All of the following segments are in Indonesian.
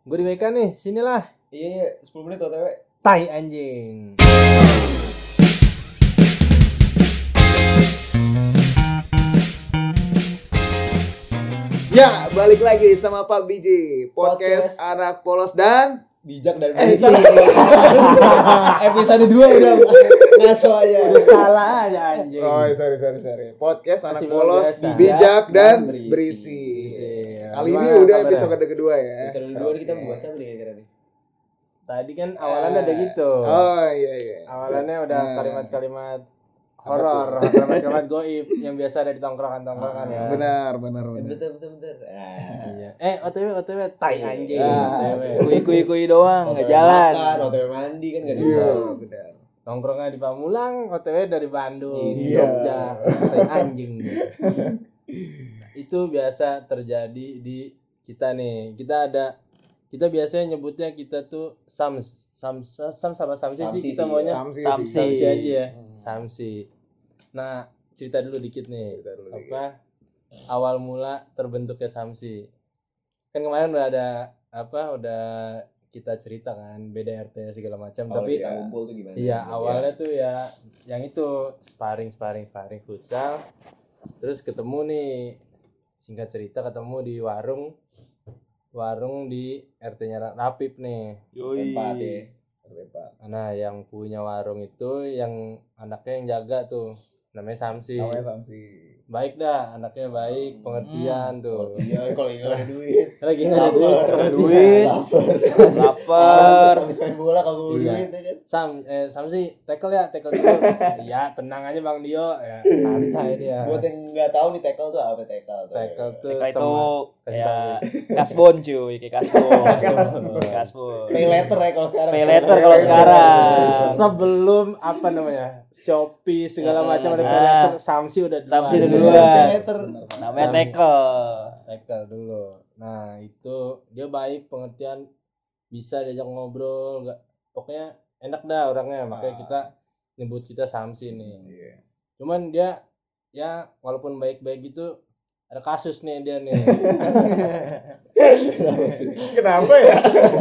Gue di WK nih, sinilah. Iya, 10 menit OTW. Tai anjing. Ya, balik lagi sama Pak Biji, podcast anak polos dan Bijak dan berisik. Episode 2 udah ngaco aja. Udah salah aja anjing. Oh, sorry. Podcast anak Masih polos, biasa. bijak dan Berisi. berisi. Berisi. Kali ini Gimana udah kabarnya? episode kedua ya. Episode 2 kita membahas apa nih kira-kira nih? Tadi kan awalannya ada gitu. Oh iya. Awalannya udah Nah, kalimat-kalimat horor, kalimat-kalimat goib yang biasa ada di tongkrongan-tongkrongan ya. Benar. Bentar. Iya. OTW tai anjing. Kui doang, nggak jalan. Makan, OTW mandi kan enggak Iya, ada. benar. Nongkrongnya di Pamulang, OTW dari Bandung, Iya. Jogja, tai anjing. Itu biasa terjadi di kita nih. Kita biasanya nyebutnya kita tuh Sams sama Samsi Samsi sih kita sih, maunya. Samsi. Samsi aja ya. Samsi. Nah, cerita dulu dikit nih. Cerita dulu Apa awal mula terbentuknya Samsi? Kan kemarin udah kita cerita kan beda RT segala macam, Kalau tapi kita ngumpul tuh gimana? iya awalnya tuh ya yang itu sparring futsal. Terus ketemu nih, singkat cerita ketemu di warung di RT-nya Rapip nih. Tempat ya. Nah, yang punya warung itu yang anaknya yang jaga tuh namanya Samsi. Namanya Samsi. Baik dah, anaknya baik, pengertian tuh. Iya, kalau nggak ada duit. Lagi nggak ada duit. Duit, lapar. Habis main bola kalau Iya. duit ya kan. Samsi, tackle dulu. Iya, tenang aja Bang Dio ya. Santai dia. Buat yang nggak tahu nih tackle tuh apa tackle tuh. Tackle tuh Kayak itu kasih ya tahu. kasbon cuy, kayak kasbon. Pay letter ya kalau sekarang. Pay letter kalau sekarang. Sebelum Shopee segala macam ada pay letter, Samsi udah duluan. Samsi udah duluan. Pay letter. Namanya tackle. Tackle dulu. Nah, itu dia baik, pengertian, bisa diajak ngobrol, enggak pokoknya enak dah orangnya, makanya kita nyebut kita Samsi nih. Iya. Cuman dia ya walaupun baik-baik gitu ada kasus nih dia nih. Kenapa ya?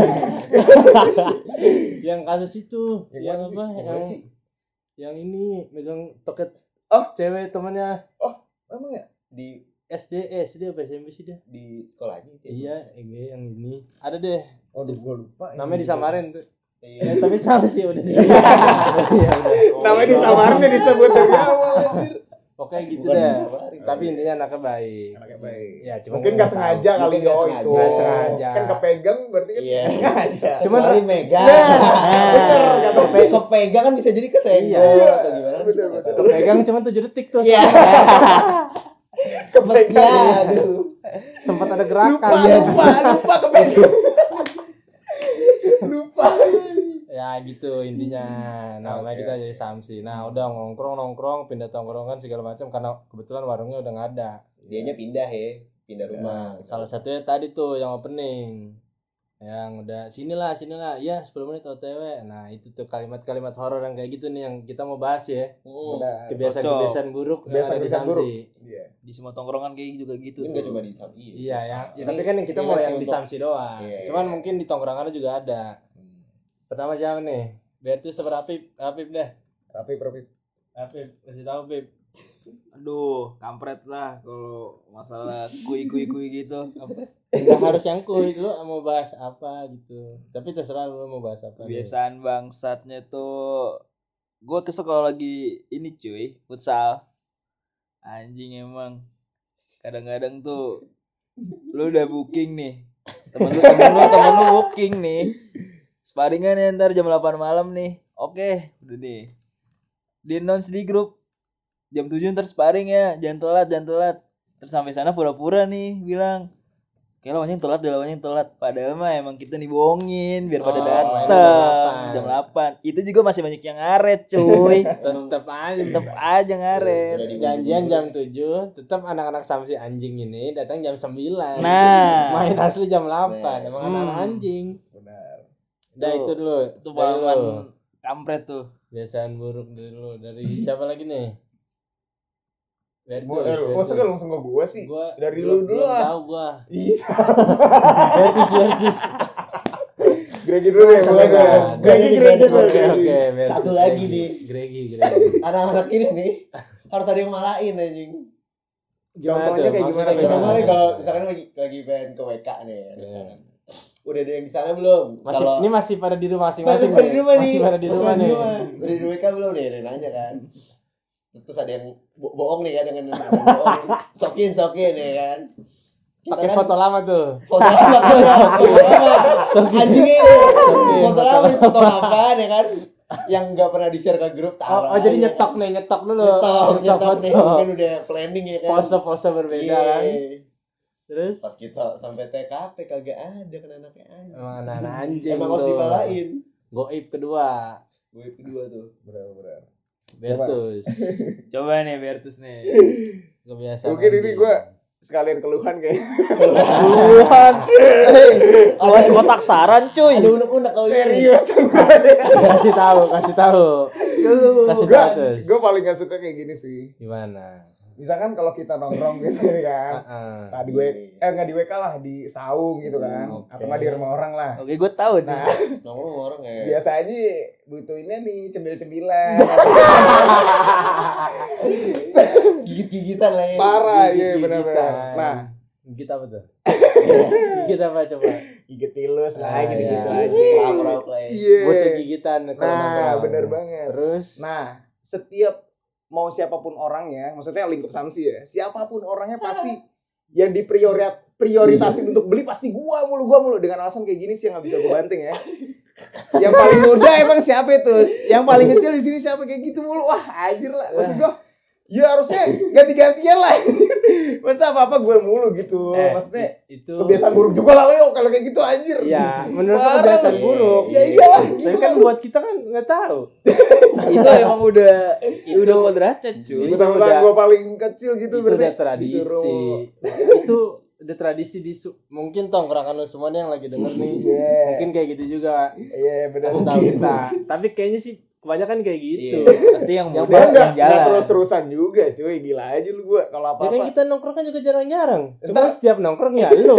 Yang kasus itu, yang mana sih? apa? Yang mana sih? Yang ini megang toket Oh. cewek temannya Emang ya? Di SD apa SMP sih dia? di sekolahnya itu. Iya, yang ini. Ada deh. Oh, gue lupa. Namanya disamarin tuh. Iya. Tapi Samsi udah. Namanya disamarin ya disebut dari awal. Pokoknya gitu Bukan deh. disamarin. Tapi intinya anaknya baik. Anaknya baik. Ya, cuma Mungkin nggak sengaja kali Mungkin nggak oh sengaja. itu. Nggak sengaja. Kan kepegang berarti kan Iya. nggak sengaja. Cuman Kecuali megang. Bener, kata Kepegang kan bisa jadi kesenggol Iya. atau gimana? Bener. pegang cuma 7 detik tuh. Iya. Sempet Kepegang. ya, aduh. Sempat ada gerakan. Lupa kepegang. Lupa. Ya gitu intinya. Namanya Oke. kita jadi Samsi. Nah, udah nongkrong, pindah tongkrongan segala macam karena kebetulan warungnya udah nggak ada. Dianya pindah pindah rumah. Salah satunya tadi tuh yang opening. Yang udah sinilah. Iya, 10 menit OTW. Nah, itu tuh kalimat-kalimat horor yang kayak gitu nih yang kita mau bahas ya. Benar. Kebiasaan-kebiasaan buruk yang ada di Kebiasaan buruk. Samsi. Iya. Di semua tongkrongan kayak juga gitu. Ini nggak cuma di Samsi. Iya ya. Ini Tapi kan yang kita mau relate yang sih di untuk- Samsi doang. Iya. Cuman mungkin di tongkrongannya juga ada. Pertama siapa nih? Biar tuh Rapip deh. Rapip. Rapip, kasih tahu Pip. Aduh, kampret lah kalau masalah kui gitu. Enggak harus yang kuy, lu mau bahas apa gitu. Tapi terserah lu mau bahas apa. Kebiasaan bangsatnya tuh gue kesel kalau lagi ini cuy, futsal. Anjing emang. Kadang-kadang tuh lu udah booking nih. Temen lu booking nih. Sparingan ya ntar jam 8 malam nih. Oke, udah nih. Di announce di grup jam 7 ntar sparing ya, jangan telat. Terus sampai sana pura-pura nih bilang, "Kayak lawannya telat." Padahal mah emang kita nih bohongin biar pada datang jam 8. Itu juga masih banyak yang ngaret, cuy. Tetep Aja ngaret. janjian jam 7, tetap anak-anak Samsi anjing ini datang jam 9. Nah. Main asli jam 8. Nah. Emang anak anjing. Benar. Udah itu dulu. Itu Dari lu. pengalaman kampret tuh. Kebiasaan buruk dari lu. Dari siapa lagi nih? Masa kan langsung ke gua sih? Gua Dari belum- lu dulu belum lah. tahu gua. Iya. Vertis. Gregi dulu deh. Masa Boleh enggak? gue. Gregi Gregi. dulu. Oke, Satu lagi nih. Gregi. Anak-anak ini nih harus ada yang malain anjing. Gimana Contohnya tuh? kayak Maksudnya gimana? Kemarin kalau misalkan lagi pengen ke WK nih, misalkan. Udah ada yang di sana belum? Ini masih pada di rumah masing-masing. masih pada di rumah nih. Masih pada di rumah nih. Udah di WK belum nih? Dia nanya kan. Terus ada yang bohong nih kan dengan bohong. Sokin ya kan. Pakai foto lama tuh. Foto lama. Anjingnya ini. Foto lama, foto apa ya kan? Yang enggak pernah di-share ke grup taruh. Oh, jadi aja, nyetok kan. nih, nyetok dulu. Nyetok nih. foto. Mungkin udah planning ya kan. Pose-pose berbeda kan. Terus Pas kita sampai TKP kagak ada kan anaknya anjing. emang anak-anak anjing. Emang harus tuh. dipalain. Goib kedua. Gue kedua tuh. Benar. Bertus. Coba nih Bertus nih. Kebiasaan. Mungkin ini anjing. gue sekalian keluhan kayak. Keluhan. Keluhan kotak saran cuy. Ada unek-unek kalau ini. Serius kasih tahu. Kasih tahu terus. gue paling gak suka kayak gini sih. Gimana? Misalkan kalau kita nongkrong biasanya kan. Heeh. Nah, nggak di WK lah, di saung gitu kan. Oke. Atau nggak di rumah orang lah. Oke, gue tahu nih. Nah, Nongkrong orang ya. biasanya butuhinnya nih cemil-cemilan. Gigit-gigitan lah ya. Parah, iya Gigit-gigitan. benar-benar. Nah, Gigit apa tuh? Gigit apa coba? gigit tilus lah, Ah, gitu-gitu iya. aja. Lauk lah ya. Iya. Butuh gigitan kalau Nah, nongkrong. bener banget. Terus Nah, setiap mau siapapun orangnya, maksudnya lingkup Samsi ya, siapapun orangnya pasti yang diprioritasin untuk beli pasti gua mulu dengan alasan kayak gini sih yang nggak bisa gua banting ya. Yang paling muda emang siapa itu? Yang paling kecil di sini siapa kayak gitu mulu? Wah, anjir lah. Maksud gua ya harusnya ganti-gantian lah. Masa apa-apa gue mulu gitu. Maksudnya itu kebiasaan buruk juga lah Leo kalau kayak gitu anjir. ya menurut Parah. kebiasaan buruk. Ya iyalah. Tapi kan buat kita kan nggak tahu. Itu emang udah kodratnya cuy. Itu Mentang-mentang udah- gue paling kecil gitu Itu berarti udah tradisi. disuruh- Itu udah tradisi mungkin tongkrongan lu semua nih yang lagi denger nih. Iya. Mungkin kayak gitu juga. Iya benar. Kasih tahu kita. Tapi kayaknya sih kebanyakan kayak gitu. Pasti yang Yang muda Enggak, yang jalan. terus-terusan juga cuy. Gila aja lu gue kalau Ya kan apa-apa. kita nongkrong kan juga jarang-jarang. Cuma Entar- setiap nongkrong ya lu.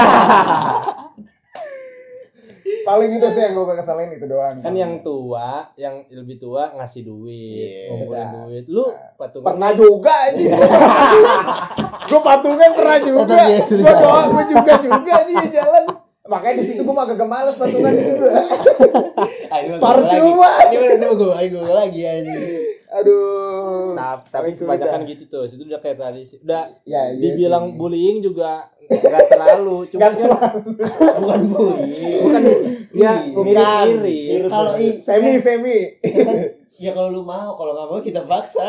Paling itu sih yang gue kesalin itu doang. Kan yang tua, yang lebih tua ngasih duit, Iya. ngumpulin duit. Lu patungan. pernah juga anjing. Gue patungan pernah juga. Tetap dia sudah. Gue doang gue juga anjing jalan. Makanya di situ gue agak males patungan juga. Percuma. Ini gue lagi anjing. Aduh. Tapi Paling kebanyakan sulit gitu tuh. Itu udah kayak tradisi. Udah Ya, iya dibilang sih. bullying juga nggak terlalu. Cuma Nggak kan Bukan bully. bukan ya Bukan. mirip-mirip. Kalau semi. Ya kalau lu mau, kalau nggak mau kita paksa.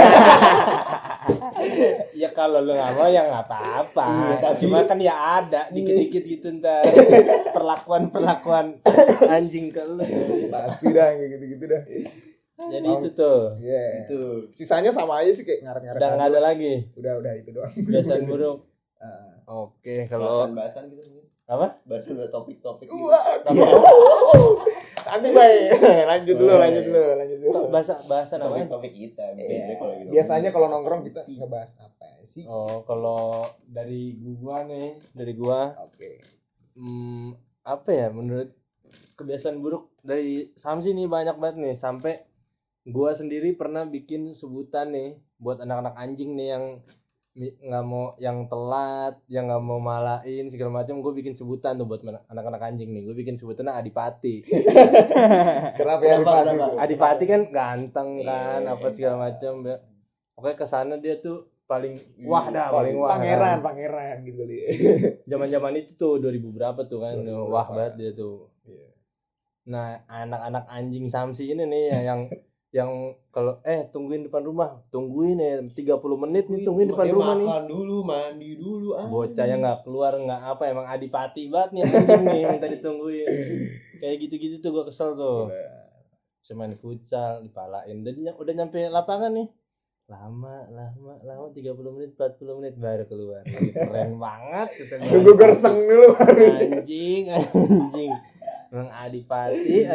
Ya kalau lu nggak mau ya nggak apa-apa. Iya, tapi- Cuma kan ya ada dikit-dikit gitu ntar perlakuan anjing ke lu. Pasti dah kayak gitu-gitu dah. Jadi itu tuh Iya. Itu. Sisanya sama aja sih kayak ngaret-ngaret. udah nggak ada lagi Udah itu doang. kebiasaan buruk. Ah. Oke, kalau Bahasan gitu mungkin. apa? Bahasan buat topik-topik. Gitu. Wah. Nanti baik. Lanjut dulu. Bahasan apa? Topik-topik kita. Biasanya kalau gitu. Biasanya kalau nongkrong kita ngebahas apa sih? Oh, kalau dari gua Oke. apa ya menurut kebiasaan buruk dari Samsi nih banyak banget nih sampai gua sendiri pernah bikin sebutan nih buat anak-anak anjing nih yang nggak mau yang telat, yang nggak mau malain segala macam. Gue bikin sebutan tuh buat anak-anak anjing nih. Gue bikin sebutannya Adipati. Kenapa ya Rifat? Adipati kan ganteng kan, Iya, apa segala macam. Oke, kesana dia tuh paling wah dah, paling wah. Pangeran gitu kali. Zaman-zaman itu tuh 2000 berapa tuh kan, 2000 wah berapa. banget dia tuh. Iya. Nah, anak-anak anjing Samsi ini nih yang kalau tungguin depan rumah, tungguin ya 30 menit nih tungguin depan Dia rumah nih. makan dulu, mandi dulu. Bocah yang nggak keluar nggak apa emang adipati banget nih anjing nih minta ditungguin. Kayak gitu-gitu tuh gua kesel tuh. Cuman futsal dipalain dan udah nyampe lapangan nih. Lama 30 menit 40 menit baru keluar. Keren banget kita. Tunggu gerseng dulu. Anjing. Emang adipati.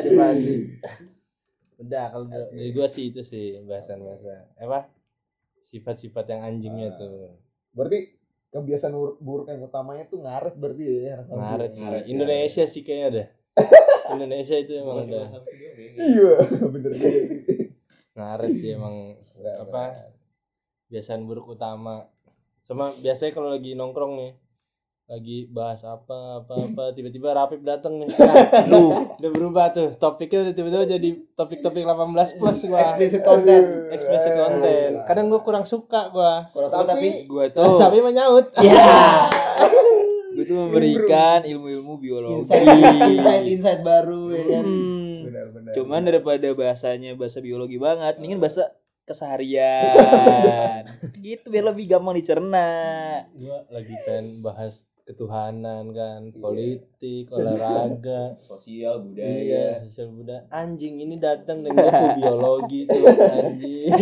Udah kalau dari gua sih itu sih bahasan apa sifat-sifat yang anjingnya tuh. Berarti kebiasaan buruk yang utamanya tuh ngaret berarti ya. Ngaret sih. Indonesia sih kayaknya deh. Indonesia itu emang udah Iya, bener juga. ngaret sih emang apa kebiasaan buruk utama. Sama biasanya kalau lagi nongkrong nih lagi bahas apa tiba-tiba Rapip datang nih. Nah, udah berubah tuh. Topiknya udah tiba-tiba jadi topik-topik 18 plus gua. Explicit content. Explicit content. Kadang gua kurang suka gua. Kurang suka tapi Gua tuh Tapi menyaut. gue tuh memberikan ilmu-ilmu biologi. insight baru ya kan. Benar. Cuman daripada bahasa biologi banget, mendingan bahasa keseharian. Gitu biar lebih gampang dicerna. Gua lagi pengen bahas ketuhanan kan, politik, olahraga, Sosial budaya. iya, sosial budaya. Anjing ini datang dan gua biologi tuh anjing.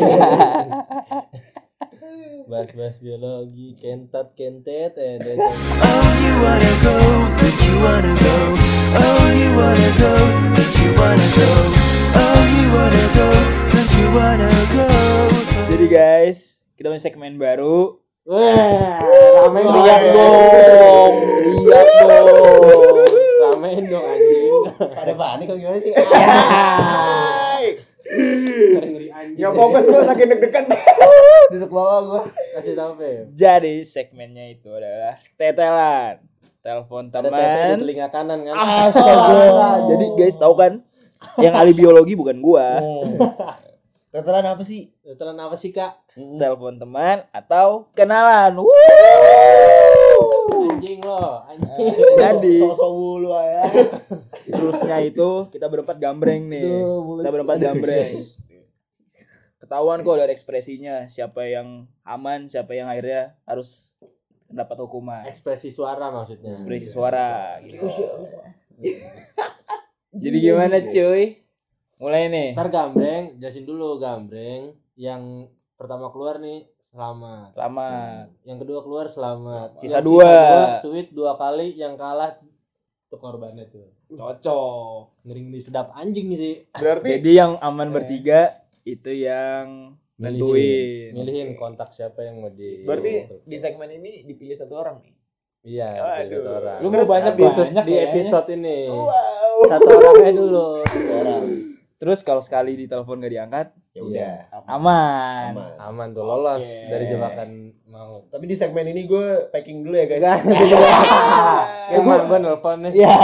Bahas biologi, kentet datang. Oh, you wanna go, but you wanna go. Oh, you wanna go, but you wanna go. Oh, you wanna go, but you wanna go. Jadi guys, kita punya segmen baru. Wah, ramein dong. Lihat dong. Ramein dong anjing. Ada panik kok gimana sih? Ngeri anjing. Ya fokus gua saking deg-degan. Duduk bawah gua. Kasih tahu Feb. Jadi segmennya itu adalah tetelan. Telepon Ada tete di teman. telinga kanan kan? Astaga. Jadi guys tahu kan, yang ahli biologi bukan gua. Tetelan apa sih? Tetelan apa sih, Kak? Telepon teman atau kenalan. Anjing lo, anjing. Jadi Sosok wulu ya. terusnya itu kita berempat gambreng nih. Aduh, mulus. Kita berempat gambreng. Ketahuan kok dari ekspresinya siapa yang aman, siapa yang akhirnya harus dapat hukuman. Ekspresi suara maksudnya. Ekspresi suara gitu. Jadi gimana cuy? Mulai nih. Ntar gambreng, jelasin dulu gambreng. Yang pertama keluar nih selamat. Selamat. Yang kedua keluar selamat. Sisa Yang dua. Sweet 2 kali, yang kalah tuh korbannya tuh. Cocok. Ngeri sedap anjing sih. Berarti Jadi yang aman bertiga itu yang nentuin. Milihin kontak siapa yang mau di. berarti di segmen ini dipilih satu orang nih. Iya, Waduh. satu orang. Lu mau banyak Khusus banyak di kayaknya. episode ini. Wow. Satu orangnya dulu. Orang. Terus kalau sekali ditelepon gak diangkat, Ya udah. aman. Aman tuh lolos Oke. dari jebakan maut. Tapi di segmen ini gue packing dulu ya guys. Emang gue nelfon nih. Iya.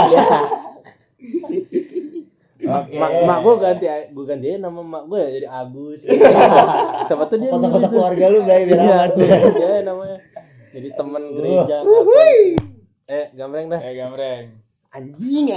Mak gue ganti aja nama mak gue jadi Agus. Coba tuh dia Foto-foto keluarga lu biar Iya, aman. dia namanya. Jadi teman gereja. Gambreng dah. Gambreng. Anjing.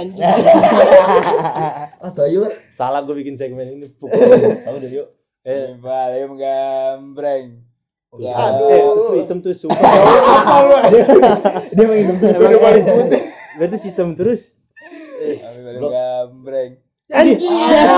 Ah, tahu lah. Salah gue bikin segmen ini. Tahu deh yuk. Paling gambreng. Terus lu hitam tuh sumpah. Dia minum terus. Udah balik putih. Berarti hitam terus. Paling gambreng. Anjing.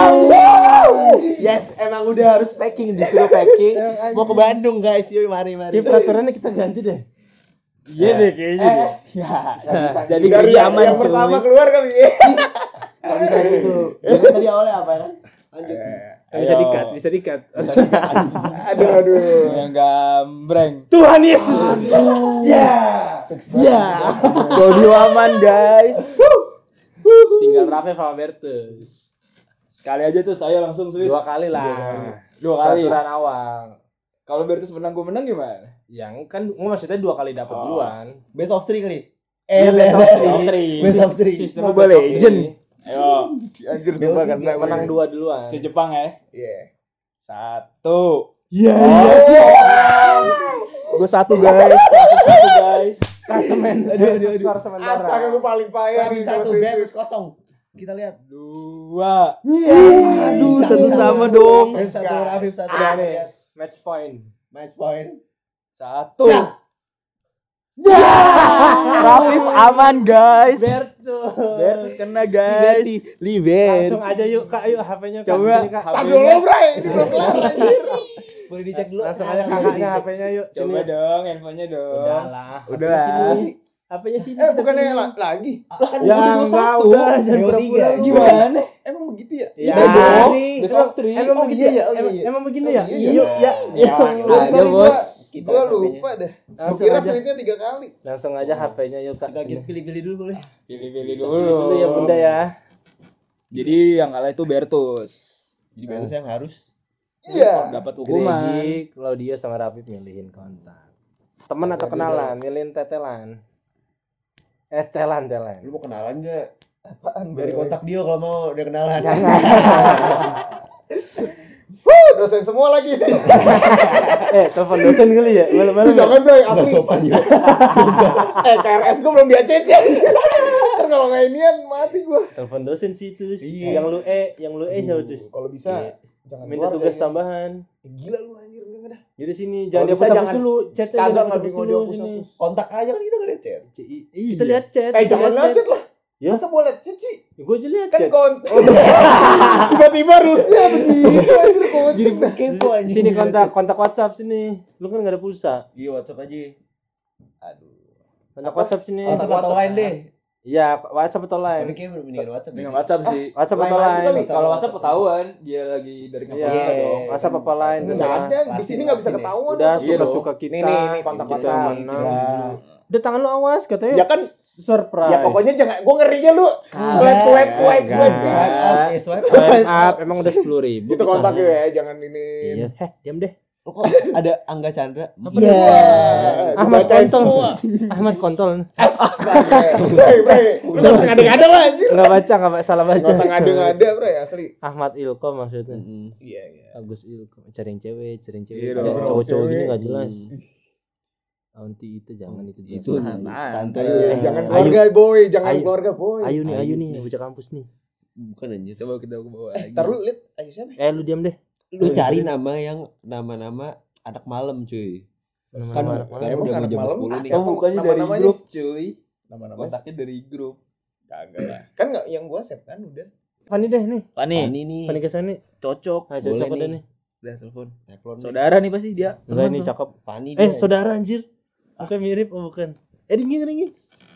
Yes, emang udah harus packing, disuruh packing. Mau ke Bandung guys, yuk mari. Ini peraturannya kita ganti deh. Iya deh kayaknya. Ya. Jadi Dari kerja aman yang pertama cuy. keluar kali ya. Gak bisa gitu. Jadi tadi awalnya apa kan? Lanjut. Bisa dikat. Aduh. Yang gambreng. Tuhan Yesus. Ya. Audio aman guys. Tinggal Rafe sama Bertus. Sekali aja tuh saya langsung sweet. 2 kali lah. 2 kali. Peraturan awal. Kalau Bertus menang gue menang gimana? Yang kan maksudnya 2 kali dapat duluan. Best of 3 kali. Best of 3. Sistem Mobile best of Legend. three. Ayo, Anjir sumpah kan. Menang 2 duluan. si Jepang ya. Iya. 1. Iya. Gue 1 guys. Satu guys. Klasemen. Aduh. Skor Astaga sementara. gue paling payah Rapip nih. 1, Bertus 0. Kita lihat. 2. Aduh, satu sama dong. Bertus 1, Rapip 1. Udah nih. Match point. Match point. 1. Ya. Rapip aman guys. Bertus. Bertus kena guys. Langsung aja yuk Kak, yuk HP-nya Kak. Coba Sini, Kak. Aduh lo bray, ini belum kelar anjir. Boleh dicek dulu. Langsung aja kakaknya HP-nya yuk. Coba Sini. dong handphonenya dong. Udah lah. Udah. HP-nya sini. Bukannya lagi? Kan Ya enggak udah jangan Dua pura-pura. tiga. lu. Gimana? Emang begitu ya? Ya. dong. Emang- Best of 3. Emang Oh, begitu iya, ya? oh, iya. Emang begini ya? iya. Yuk ya. Ya, Sorry, bos. Gue lupa dah. Gue Langsung kira aja. sweetnya 3 kali. Langsung aja HP-nya yuk Kak. Kita Sini. pilih-pilih dulu boleh. Pilih-pilih Dulu ya Bunda ya. Jadi yang kalah itu Bertus. Jadi Bertus yang harus Iya. Dapat hukuman. Gregi, Claudia sama Rafif milihin kontak. Temen atau kenalan, milihin tetelan. Telan. lu mau kenalan enggak? Apaan Dari bro? kontak dia kalau mau dia kenalan. Dosen semua lagi sih. Telepon dosen kali ya, malam-malam. Jangan bro, Enggak asli. sopan ya. KRS gue belum di ACC. Ntar kalau nggak inian mati gue. Telepon dosen sih itu. Iya. yang lu siapa tuh? Kalau bisa jangan Minta keluar tugas dari- tambahan. Gila lu anjir enggak dah. Jadi sini Kalau jangan bisa dihapus jangan- dulu, chatnya Kagak jangan nggak dihapus mau dulu dihapus. sini. Kontak aja kan kita enggak chat. Kita lihat chat. Jangan ngechat lah. Ya, Masa boleh cici? gue aja lihat Kan chat. tiba-tiba rusnya begitu anjir kok. Jadi kepo anjing. Sini kontak WhatsApp sini. Lu kan enggak ada pulsa. Iya WhatsApp aja. Aduh. Kontak Apa? WhatsApp sini. WhatsApp atau lain deh. Iya, WhatsApp atau Tapi lain. kayaknya mendingan WhatsApp. Dengan deh. WhatsApp sih. WhatsApp Lain atau aja lain. kali. Kalau WhatsApp ketahuan dia lagi dari Iya, kampus kita dong. WhatsApp apa lain Enggak terserah. ada di sini enggak bisa Lasin, ketahuan. Udah Iya dong. suka kita. Nih, kontak Kita WhatsApp. menang. Iya. Udah tangan lu awas katanya. Ya kan Surprise. ya pokoknya jangan gue ngerinya lu swipe. Swipe up, swipe up. Swipe up emang udah 10.000. Itu kontak ya, jangan ini. Iya, diam deh. Lo kok ada Angga Chandra? Iya. Ahmad Dibacain Kontol. semua. Ahmad Kontol. Bre, lu gak usah ngada-ngada lah anjir. Enggak baca, enggak salah baca. Gak usah ngada-ngada bre, asli. Ahmad Ilkom maksudnya. Iya. Agus Ilkom. Cari yang cewek. Iya dong. Jangan cowok-cowok gini Cewek. enggak jelas. Aunty itu jangan itu jelas. Itu Apaan? tante. Jangan keluarga boy, jangan Ayu. keluarga boy. Ayu nih, bocah kampus nih. Bukan anjir. Coba kita ke bawah lagi. Ntar lu liat, ayo siapa? Lu diam deh. Lu cari nama yang nama-nama anak malam cuy. Kan Nama-nama anak sekarang malam. udah Emang mau jam anak 10 nih. malam? Oh, bukannya dari Nama-namanya? grup cuy. Nama-nama Kontaknya dari grup. kagak lah. Kan enggak yang gua save kan udah. Fani deh nih. Fani, Fani nih. Fani kesana. cocok. Nah, cocok Boleh udah nih. nih. Udah telepon. Telepon nih. Saudara nih pasti dia. Enggak ini cakep. Fani dia. Saudara anjir. Bukan mirip, bukan. Ringi.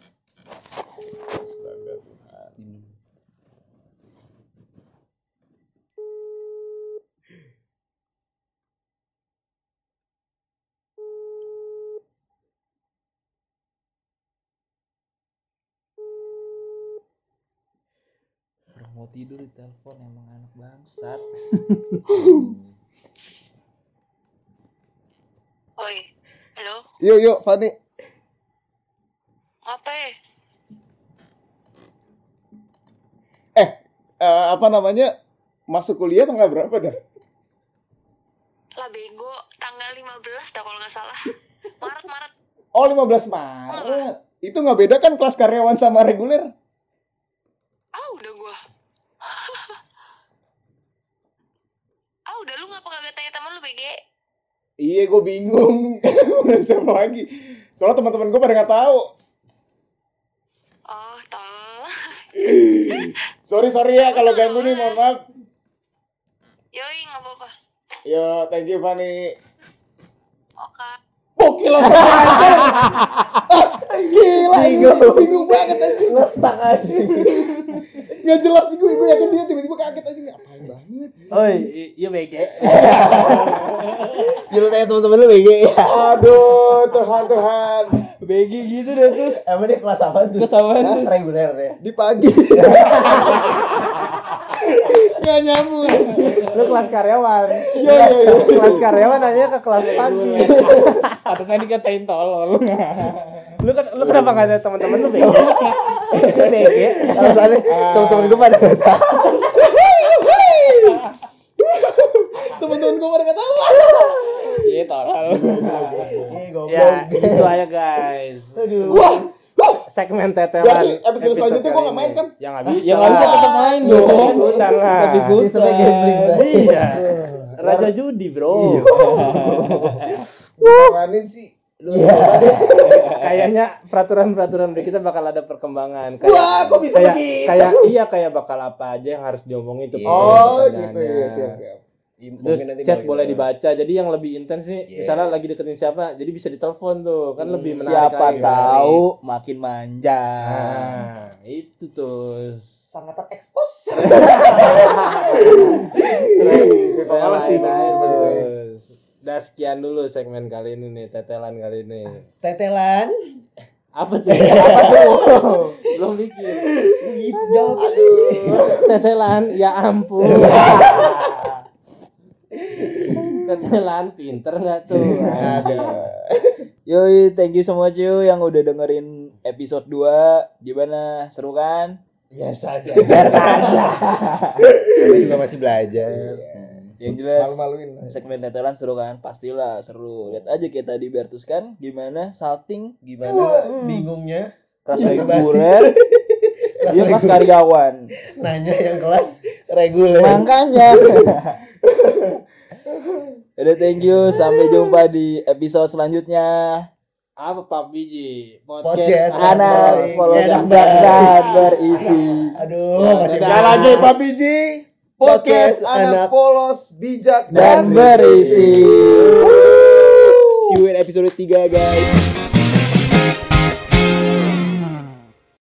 Orang mau tidur di telepon emang anak bangsat. Oi, halo, Yuk, Fani. apa ya? Apa namanya? Masuk kuliah tanggal berapa dah? Lah bego, tanggal 15 dah kalau nggak salah. Maret. Oh, 15 Maret. Itu nggak beda kan kelas karyawan sama reguler? Udah gua. Udah lu ngapa kagak tanya temen lu BG? Iya, gue bingung. Siapa lagi? Soalnya teman-teman gue pada nggak tahu. Oh, tolong. Sorry ya kalau ganggu nih, mohon maaf. Yoi, nggak apa-apa. Yo, thank you Fani. Oke. Gokil lo gila, bingung banget aja. Ngestak aja. Nggak jelas nih gue yakin dia tiba-tiba kaget aja ngapain banget. Oi, iya BG. Ya lu tanya teman-teman lu BG. Aduh, Tuhan. BG gitu deh terus. Emang dia kelas apa tuh? Kelas apaan tuh? Reguler ya. Di pagi. Nggak nyambung anjir. Lu kelas karyawan. Yo. Kelas karyawan nanya ke kelas pagi. Atasnya dikatain tolol. Lu kenapa enggak ada teman-teman lu BG? BG. Alasannya teman-teman gue pada nggak tahu. Teman-teman gue pada nggak tahu. Iya tolol. Goblok. Ya, itu aja guys. Wah, Segmen tetelan. Jadi episode selanjutnya gua nggak main kan? Ya nggak bisa. Ya nggak bisa tetap main dong. Ikutan lah. Tapi ikutan. Sampai gambling tadi. Iya. Raja judi bro. Ngamanin sih. Kayaknya peraturan kita bakal ada perkembangan. Wah, kok bisa begitu? Kayak bakal apa aja yang harus diomongin itu. Oh, pertanyaannya. gitu ya, siap. Terus chat boleh dibaca. Jadi yang lebih intens nih, misalnya lagi deketin siapa, jadi bisa ditelepon tuh, kan lebih menarik. Siapa lagi. tahu makin manja. Nah, itu tuh. Sangat terekspos. Tetelan sih, terus. Udah sekian dulu segmen kali ini nih, tetelan kali ini. Tetelan. Apa tuh? Apa tuh? Belum bikin. Gitu jawab. Tetelan, ya ampun. Tetelan pinter nggak tuh? Yoi, thank you semua cuy yang udah dengerin episode 2. Gimana? Seru kan? Biasa aja. Gue juga masih belajar. Yang jelas Malu-maluin. segmen tetelan seru kan? Pastilah seru. Lihat aja kayak tadi Bertus kan gimana salting, Gimana bingungnya kelas Basa-basi. reguler, dia kelas karyawan. nanya yang kelas reguler. Makanya. Udah, thank you, sampai jumpa di episode selanjutnya. Apa Pak Biji? Podcast Anak follow Enak dan berisi. Aduh, masih Sekali lagi Pak Biji. Podcast anak Anak polos bijak Dan berisi. See you in episode 3 guys.